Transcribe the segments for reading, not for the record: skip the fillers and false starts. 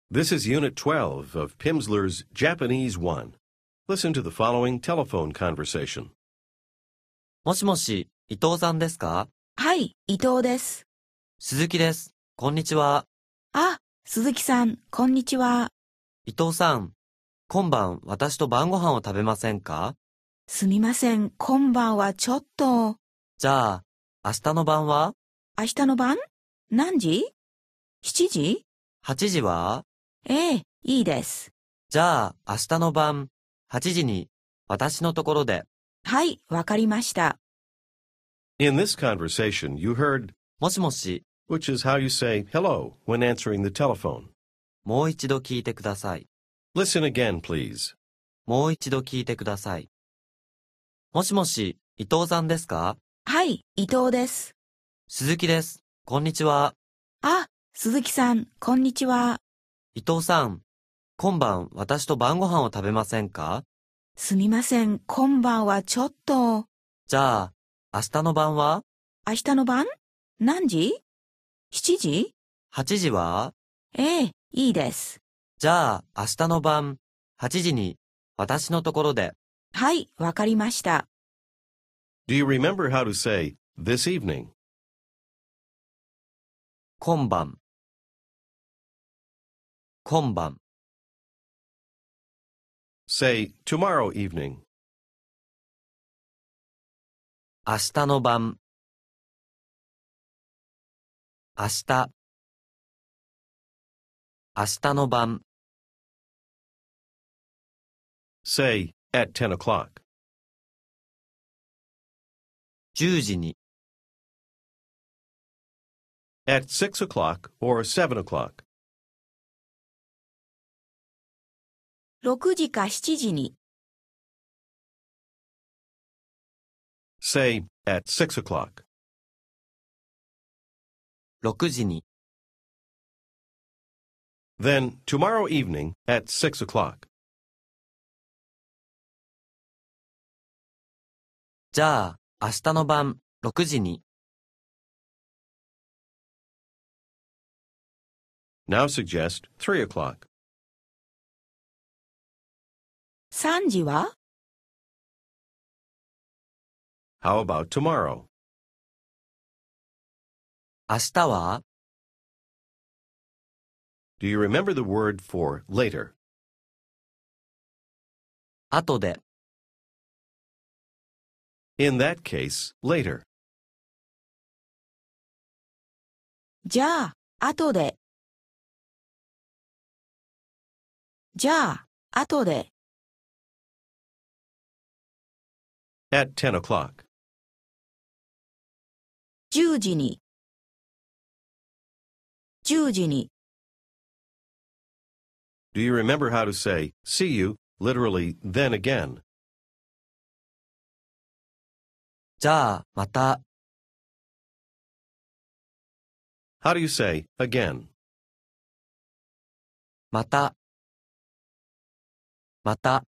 This is Unit 12 of Pimsleur's Japanese 1. Listen to the following telephone conversation. もしもし、伊藤さんですか？ はい、伊藤です。 鈴木です。こんにちは。 あ、鈴木さん、こんにちは。 伊藤さん、今晩私と晩ご飯を食べませんか？ すみません、今晩はちょっと。 じゃあ、明日の晩は？ 明日の晩？何時？ 7 時？ 8 時は？ ええ、いいです。 じゃあ、明日の晩、8時に私のところで。 はい、わかりました。 In this conversation, you heard, もしもし、 which is how you say hello when answering the telephone. もう一度聞いてください。 Listen again, please. もう一度聞いてください。もしもし、伊藤さんですか？ はい、伊藤です。 鈴木です。こんにちは。 あ、鈴木さん、こんにちは。 伊藤さん、今晩私と晩ご飯を食べませんか？ すみません、今晩はちょっと。 じゃあ、明日の晩は？ 明日の晩？何時？ 7 時？ 8 時は？ ええ、いいです。 じゃあ、明日の晩、8時に私のところで。 はい、わかりました。 Do you remember how to say this evening? 今晩。今晩。 Say tomorrow evening. 明日の晩。明日。明日の晩。 Say at 10 o'clock. 10時に。 At 6 o'clock or 7 o'clock. 6時か7時に。 Say at 6 o'clock. 6時に。 Then tomorrow evening at 6 o'clock. じゃあ、明日の晩、6時に。 Now suggest 3 o'clock. 3時は？ How about tomorrow? 明日は？ Do you remember the word for later? 後で。 In that case, later. じゃあ、後で。じゃあ、後で。 At 10 o'clock. 10時に。10時に。 Do you remember how to say see you, literally then again? じゃあ、また。 How do you say again? また。また。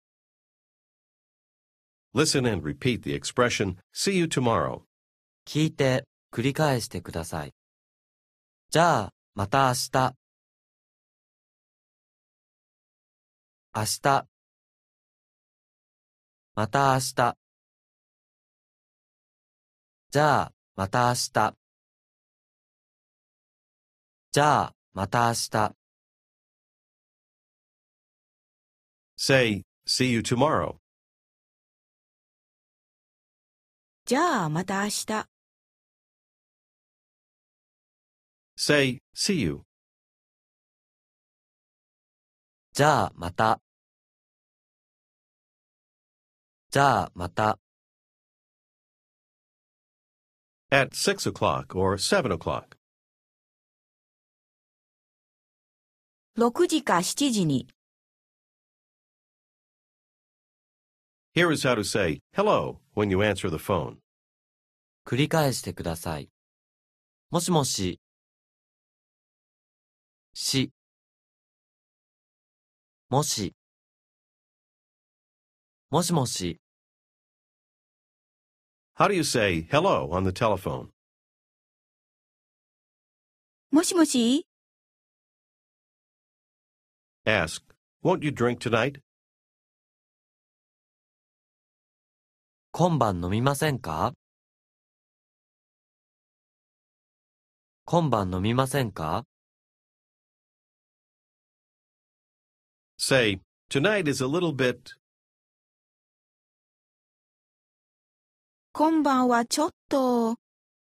Listen and repeat the expression see you tomorrow. 聞いて、繰り返してください。じゃあ、また明日。明日。また明日。じゃあ、また明日。じゃあ、また明日。 Say see you tomorrow. じゃあ、また明日。 Say see you. じゃあ、また。じゃあ、また。 At 6 o'clock or 7 o'clock. 6時か7時に。 Here is how to say hello when you answer the phone. 繰り返してください。もしもし。し。もし。もしもし。 How do you say hello on the telephone? もしもし Ask, "Won't you drink tonight?" 今晩飲みませんか？今晩飲みませんか？ Say, "Tonight is a little bit..." 今晩はちょっと。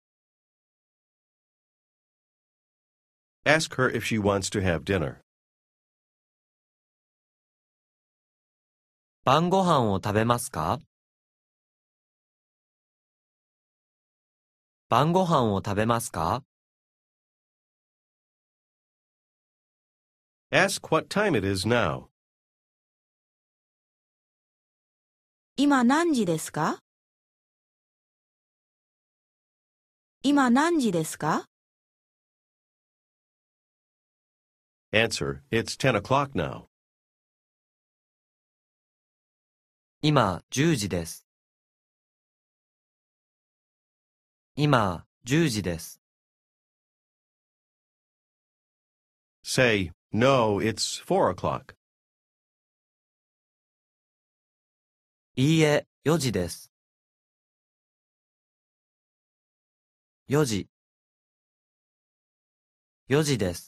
Ask her if she wants to have dinner. 晩ご飯を食べますか？晩ご飯を食べますか？ Ask what time it is now. 今何時ですか？今何時ですか？ Answer, "It's 10 o'clock now." 今10時です。今10時です。 Say, "No, it's 4 o'clock." いいえ、4時です。4時。4時です。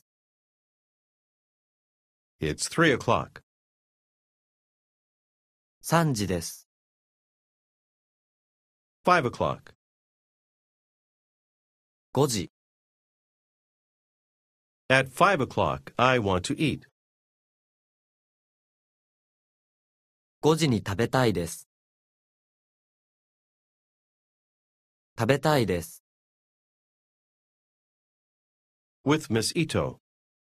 It's 3 o'clock. 3時です。 5 o'clock. 5時。 At 5 o'clock, I want to eat. 5時に食べたいです。食べたいです。 With Miss Ito.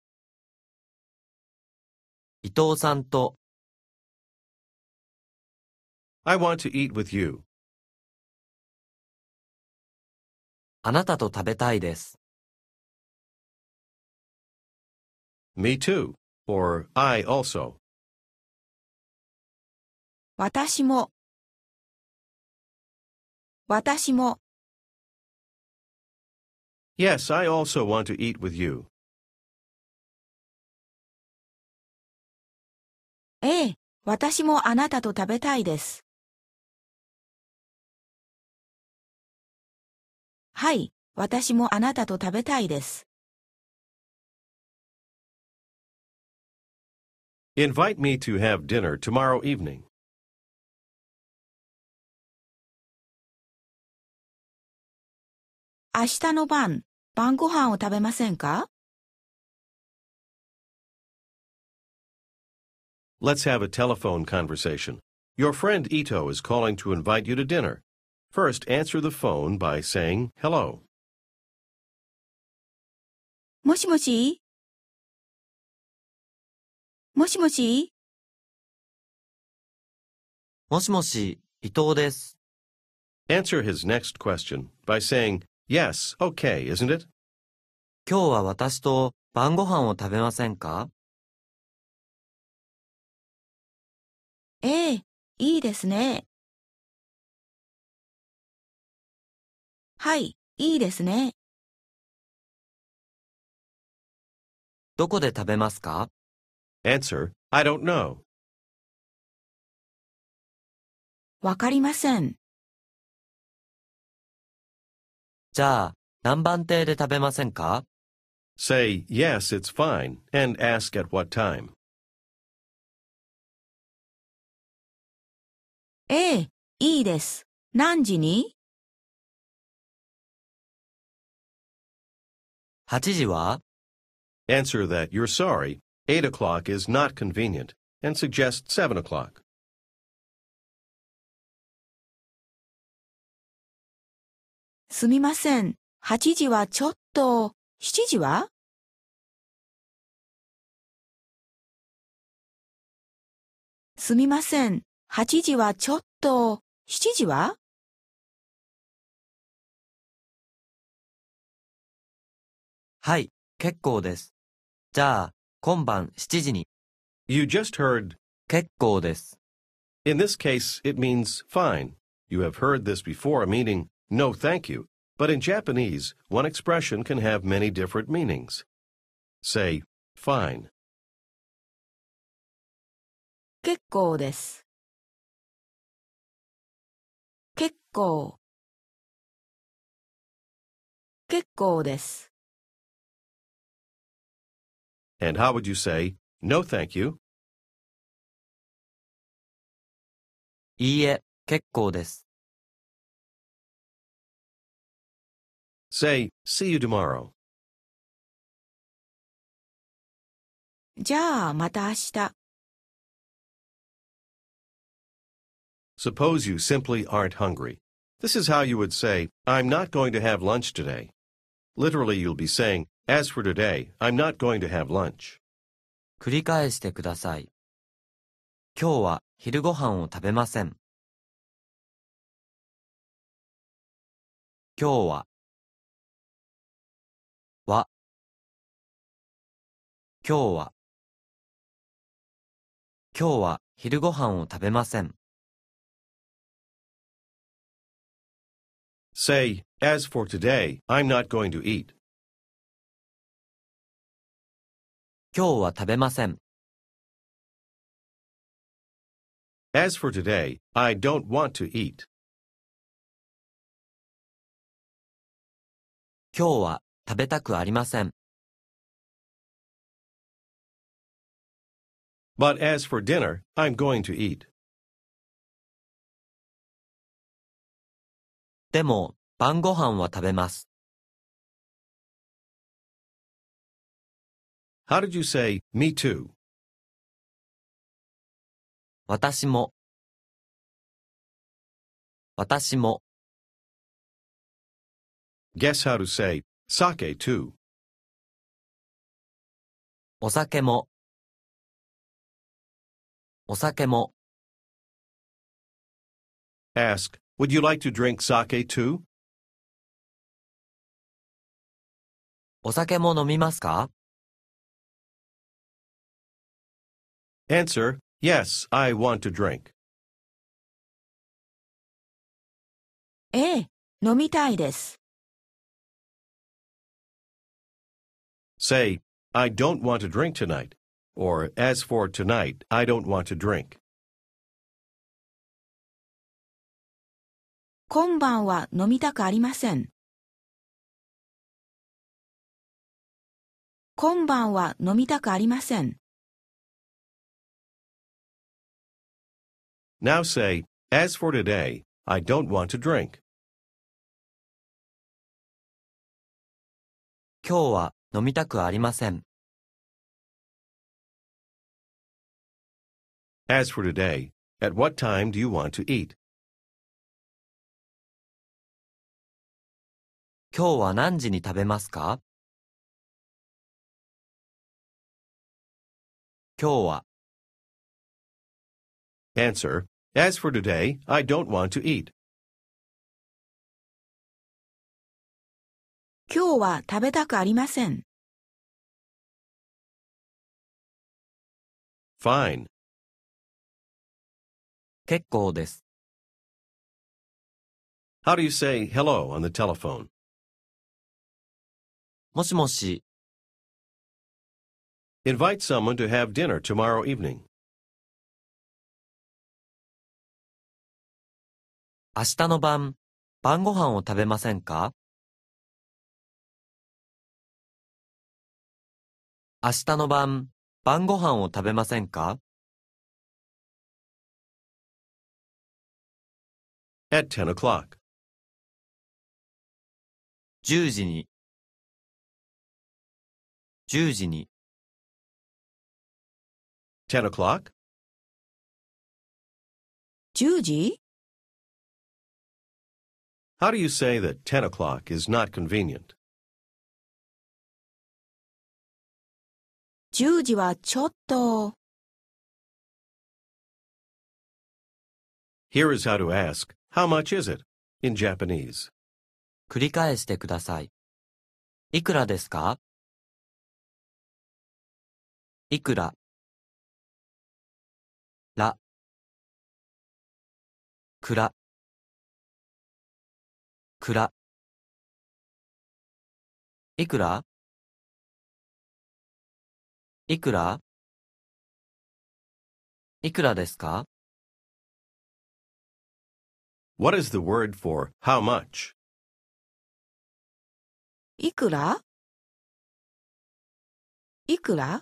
伊藤さんと。 I want to eat with you. あなたと食べたいです。 Me too. Or I also. 私も。私も。 Yes, I also want to eat with you. ええ、私もあなたと食べたいです。はい、私もあなたと食べたいです。 Invite me to have dinner tomorrow evening. 明日の晩ご飯を食べませんか？ Let's have a telephone conversation. Your friend Ito is calling to invite you to dinner. First, answer the phone by saying hello. もしもし？もしもし？ もしもし、伊藤です。 Answer his next question by saying, "Yes, okay, isn't it?" 今日は私と晩ご飯を食べませんか？ ええ、いいですね。はい、いいですね。 どこで食べますか？ Answer, "I don't know." わかりません。 じゃあ、何番亭で食べませんか？ Say, "Yes, it's fine," and ask at what time. ええ、いいです。何時に？ 8時は？ Answer that you're sorry, 8 o'clock is not convenient, and suggest 7 o'clock. すみません。8時はちょっと。7時は？すみません。8時はちょっと。7時は？ はい、結構です。じゃあ、今晩7時に。 You just heard, 結構です。 in this case, it means fine. You have heard this before, meaning no thank you. But in Japanese, one expression can have many different meanings. Say, fine. 結構です。結構。結構です。 And how would you say, no thank you? いいえ、結構です。 Say, see you tomorrow. じゃあまた明日。 Suppose you simply aren't hungry. This is how you would say, I'm not going to have lunch today. Literally, you'll be saying, as for today, I'm not going to have lunch. 繰り返してください。今日は昼ご飯を食べません。今日は、今日は、今日は昼ご飯を食べません。 Say, as for today, I'm not going to eat. 今日は食べません。 As for today, I don't want to eat. 今日は食べたくありません。 But as for dinner, I'm going to eat. でも、晩ご飯は食べます。 How did you say, me too? 私も。私も。 Guess how to say, sake too. お酒も。お酒も。 Ask, would you like to drink sake too? お酒も飲みますか？ Answer, yes, I want to drink. ええ、飲みたいです。 Say, I don't want to drink tonight. Or, as for tonight, I don't want to drink. 今晩は飲みたくありません。今晩は飲みたくありません。 Now say, as for today, I don't want to drink. 今日は飲みたくありません。 As for today, at what time do you want to eat? 今日は何時に食べますか？今日は。 Answer, as for today, I don't want to eat. 今日は食べたくありません。 Fine. 結構です。 How do you say hello on the telephone? もしもし、 Invite someone to have dinner tomorrow evening. 明日の晩ご飯を食べませんか？明日の晩ご飯を食べませんか？ At 10 o'clock. 10時に。10時に。 10 o'clock? 10時？ How do you say that 10 o'clock is not convenient? 10時はちょっと。 Here is how to ask, how much is it? In Japanese. 繰り返してください。いくらですか？いくら。ら。くら。くら。いくら？いくら？ いくらですか？ What is the word for how much? いくらいくら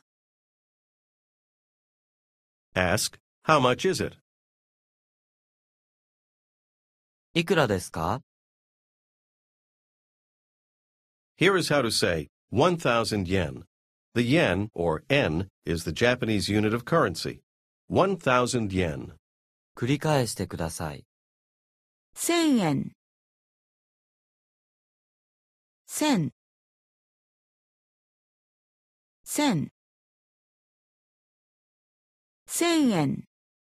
Ask, how much is it? いくらですか？ Here is how to say 1,000 yen. The yen, or en, is the Japanese unit of currency. 1,000 yen. 繰り返してください。 1000円。1000。1000。1000円。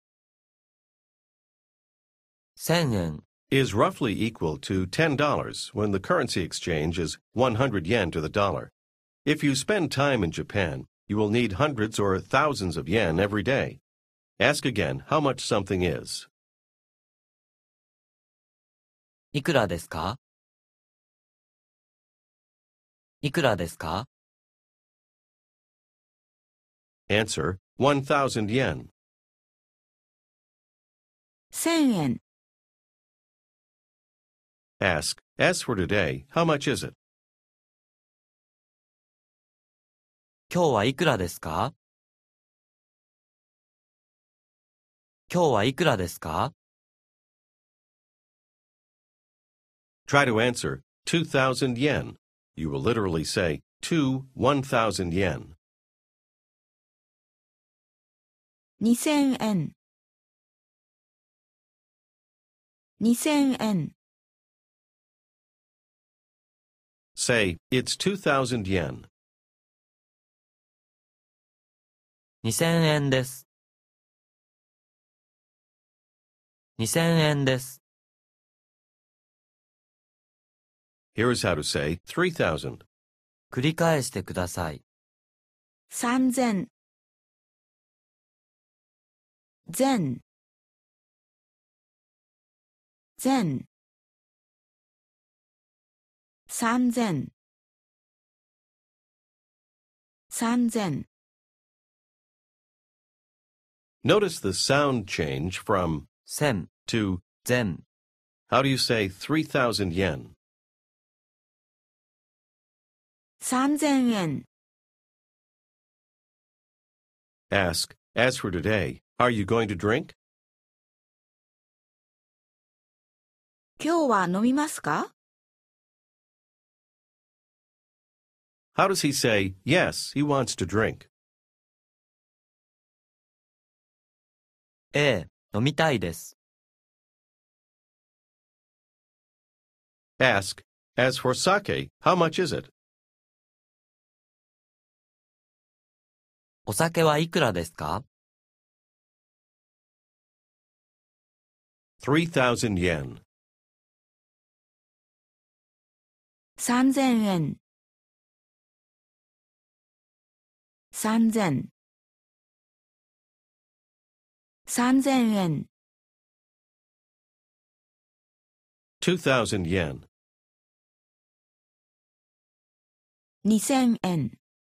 1000円。 Is roughly equal to $10 when the currency exchange is 100 yen to the dollar. If you spend time in Japan, you will need hundreds or thousands of yen every day. Ask again how much something is. いくらですか？いくらですか？ Answer, 1,000 yen. 1000円。 Ask, as for today, how much is it? 今日はいくらですか？今日はいくらですか？ Try to answer 2,000 yen. You will literally say 1,000 yen. 2000円。2000円。 Say, it's 2,000 yen. 2000円です。2000円です。 Here is how to say 3,000. 繰り返してください。 3000。全。全。3000。3000。 Notice the sound change from 1000、 to. 全。 How do you say 3,000 yen? 3000円。 Ask, as for today, are you going to drink? 今日は飲みますか？ How does he say, yes, he wants to drink? ええ、飲みたいです。 Ask, as for sake, how much is it? お酒はいくらですか？ 3,000 yen. 3000円。3000。3000円。 2,000 yen. 2000円。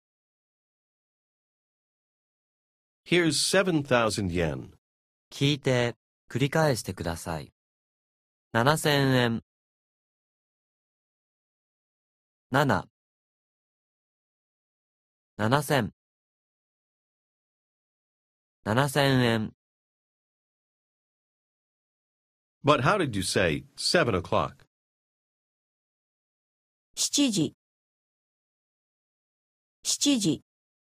Here's 7,000 yen. 聞いて、繰り返してください。7000円。7、7000、7000円。 But how did you say 7 o'clock? 7時。7時。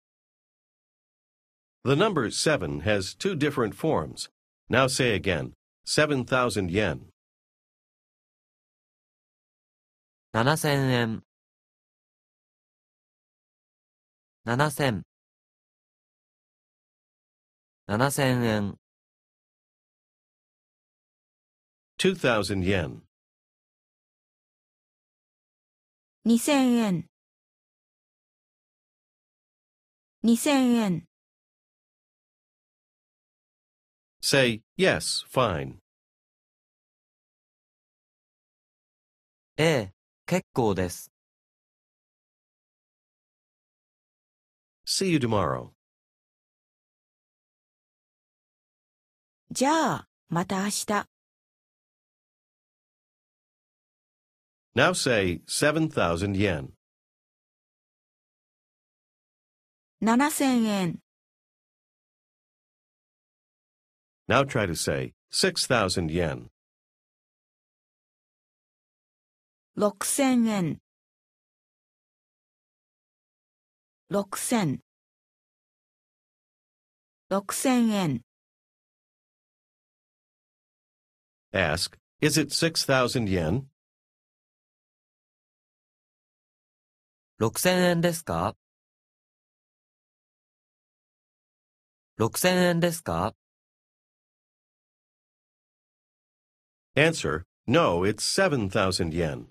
The number 7 has two different forms. Now say again, 7,000 yen. 7000円。7000、7000円。 2,000 yen. 2000円。2000円。 Say, yes, fine. ええ、結構です。 See you tomorrow. じゃあ、また明日。 Now say 7,000 yen. 7000円。 Now try to say 6,000 yen. 6000円。6000。6000円。 Ask, is it 6,000 yen? 6000円ですか ?6000 円ですか Answer, no, it's 7,000 yen.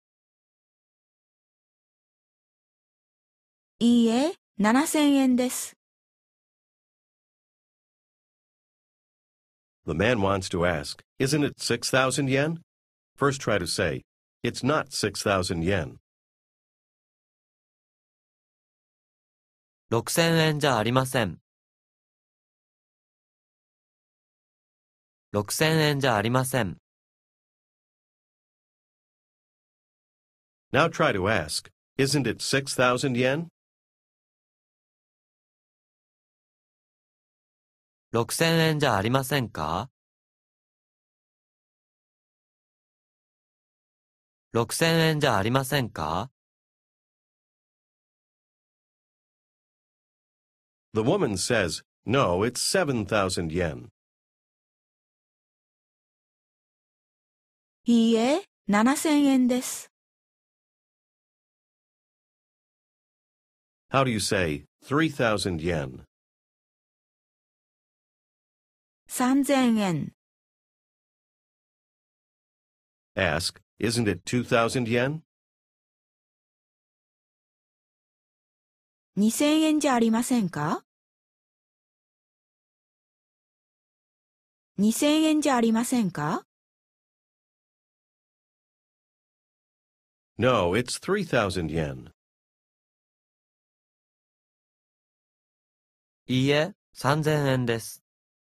いいえ、7000円です。 The man wants to ask, isn't it 6,000 yen? First try to say, it's not 6,000 yen. 6000円じゃありません。6000円じゃありません。 Now try to ask, isn't it 6,000 yen? 6000円じゃありませんか ?6000 円じゃありませんか The woman says, no, it's 7,000 yen. いいえ、7000円です。 How do you say 3,000 yen? 3000円。 Ask, isn't it 2,000 yen? 2000円じゃありませんか ?2000 円じゃありませんか No, it's 3,000 yen. いいえ、3000円です。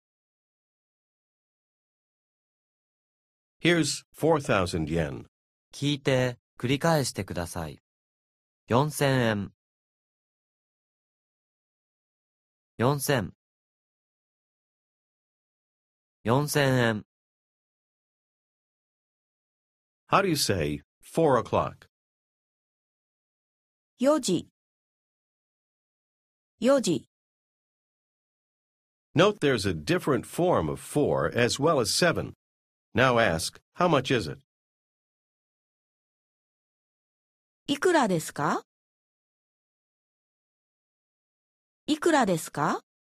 Here's 4,000 yen. 聞いて、繰り返してください。4000円。4000。4000円。 How do you say 4 o'clock? 4時。4時。 Note there's a different form of 4 as well as 7. Now ask, how much is it? いくらですかいくらですか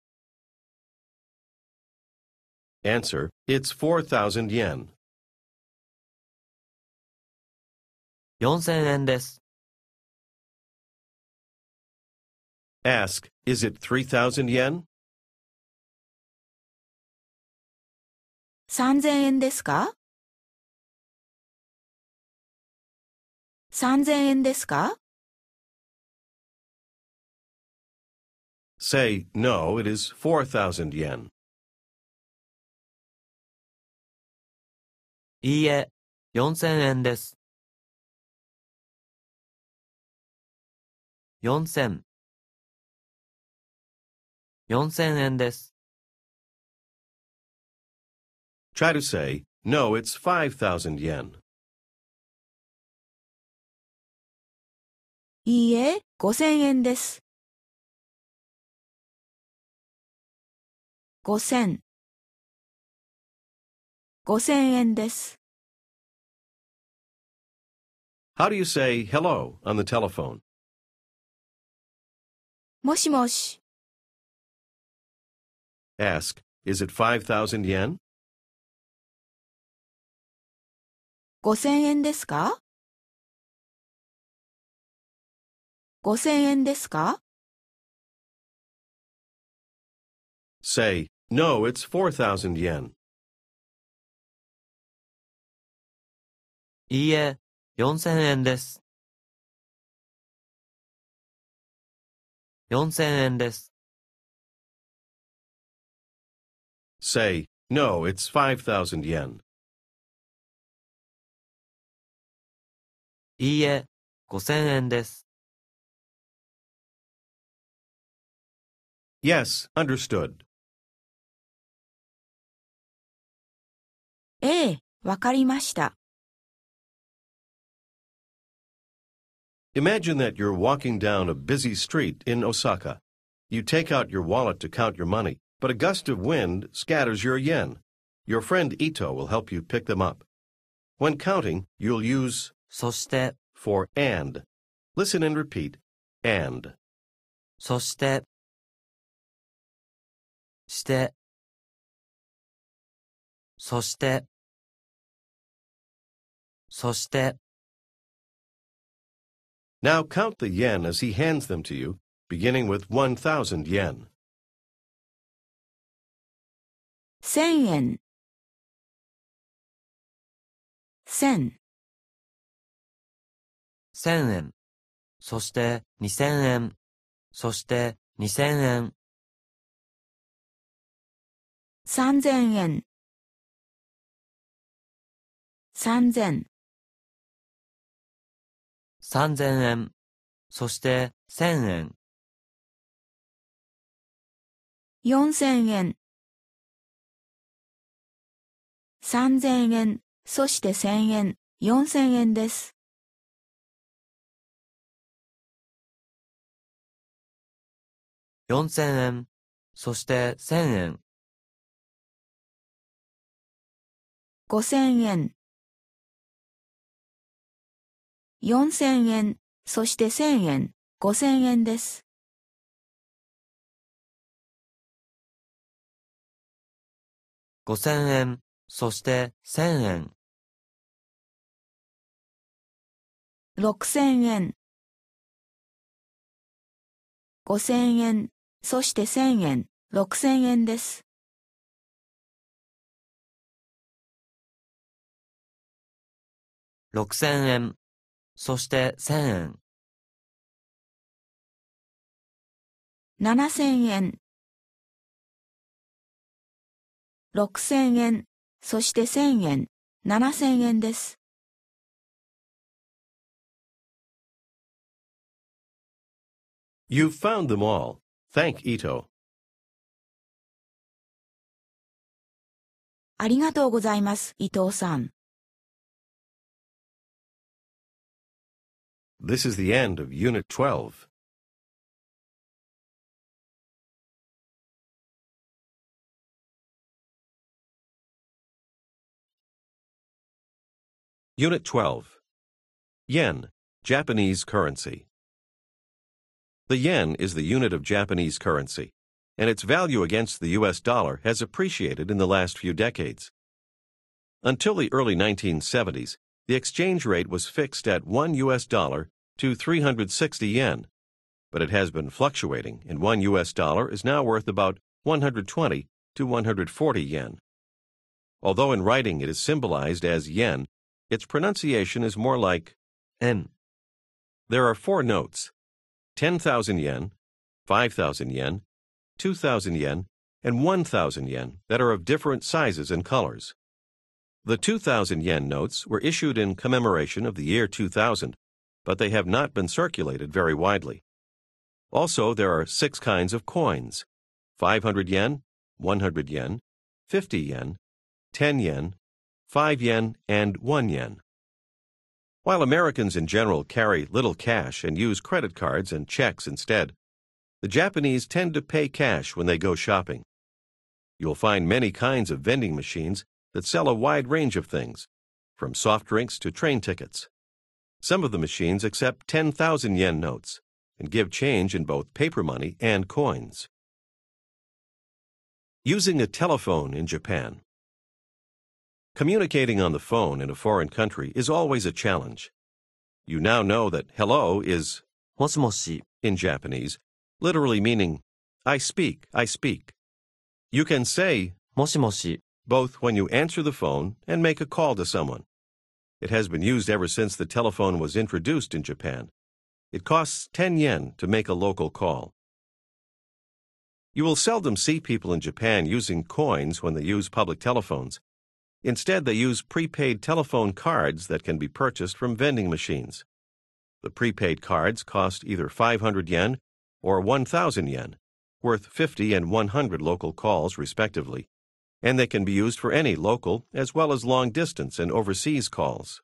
Answer, it's 4,000 yen. 4000円です。 Ask, is it 3,000 yen? 3000円ですか ?3000 円ですか Say, no, it is 4,000 yen. いいえ、4000円です。4000。4000円です。 Try to say, no, it's 5,000 yen. いいえ、5000円です。5000。5000円です。 How do you say hello on the telephone? もしもし。 Ask, is it 5,000 yen? 5000円ですか ?5000 円ですか Say, no, it's 4,000 yen. いいえ、4000円です。4000円です。 Say, No, it's 5,000 yen. いいえ、5000円です。 Yes, understood. ええ、わかりました。 Imagine that you're walking down a busy street in Osaka. You take out your wallet to count your money, but a gust of wind scatters your yen. Your friend Ito will help you pick them up. When counting, you'll use そして、 for and. Listen and repeat. And. そして、して、そして、そして。 Now count the yen as he hands them to you, beginning with 1,000 yen. 1000円、1000、 1000円、そして2000円、そして2000円。 3000円、3000、 3000円、そして1000円。 4000円、3000円、そして1000円、4000円です。 4000円、そして1000円。 5000円、4000円、そして1000円、5000円です。 5000円、そして1000円。 6000円、5000円、そして1000円、6000円です。 6000円、そして1000円。 7000円、6000円、そして1000円、7000円です。 You've found them all. Thank Ito. ありがとうございます、伊藤さん。 This is the end of Unit 12. Unit 12. Yen, Japanese currency. The yen is the unit of Japanese currency, and its value against the U.S. dollar has appreciated in the last few decades. Until the early 1970s, the exchange rate was fixed at $1 U.S. to 360 yen, but it has been fluctuating, and $1 U.S. is now worth about 120 to 140 yen. Although in writing it is symbolized as yen, its pronunciation is more like 円。 There are 4 notes: 10,000 yen, 5,000 yen, 2,000 yen, and 1,000 yen that are of different sizes and colors. The 2,000 yen notes were issued in commemoration of the year 2000, but they have not been circulated very widely. Also, there are 6 kinds of coins: 500 yen, 100 yen, 50 yen, 10 yen, 5 yen, and 1 yen. While Americans in general carry little cash and use credit cards and checks instead, the Japanese tend to pay cash when they go shopping. You'll find many kinds of vending machines that sell a wide range of things, from soft drinks to train tickets. Some of the machines accept 10,000 yen notes and give change in both paper money and coins. Using a telephone in Japan. Communicating on the phone in a foreign country is always a challenge. You now know that hello is もしもし、 in Japanese, literally meaning I speak, I speak. You can say もしもし、 both when you answer the phone and make a call to someone. It has been used ever since the telephone was introduced in Japan. It costs 10 yen to make a local call. You will seldom see people in Japan using coins when they use public telephones. Instead, they use prepaid telephone cards that can be purchased from vending machines. The prepaid cards cost either 500 yen or 1,000 yen, worth 50 and 100 local calls respectively, and they can be used for any local as well as long-distance and overseas calls.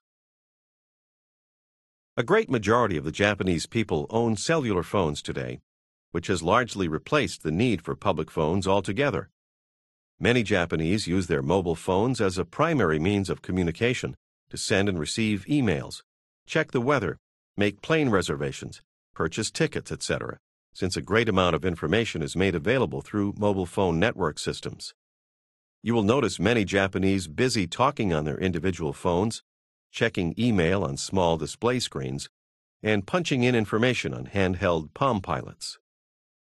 A great majority of the Japanese people own cellular phones today, which has largely replaced the need for public phones altogether. Many Japanese use their mobile phones as a primary means of communication to send and receive emails, check the weather, make plane reservations, purchase tickets, etc., since a great amount of information is made available through mobile phone network systems. You will notice many Japanese busy talking on their individual phones, checking email on small display screens, and punching in information on handheld Palm Pilots.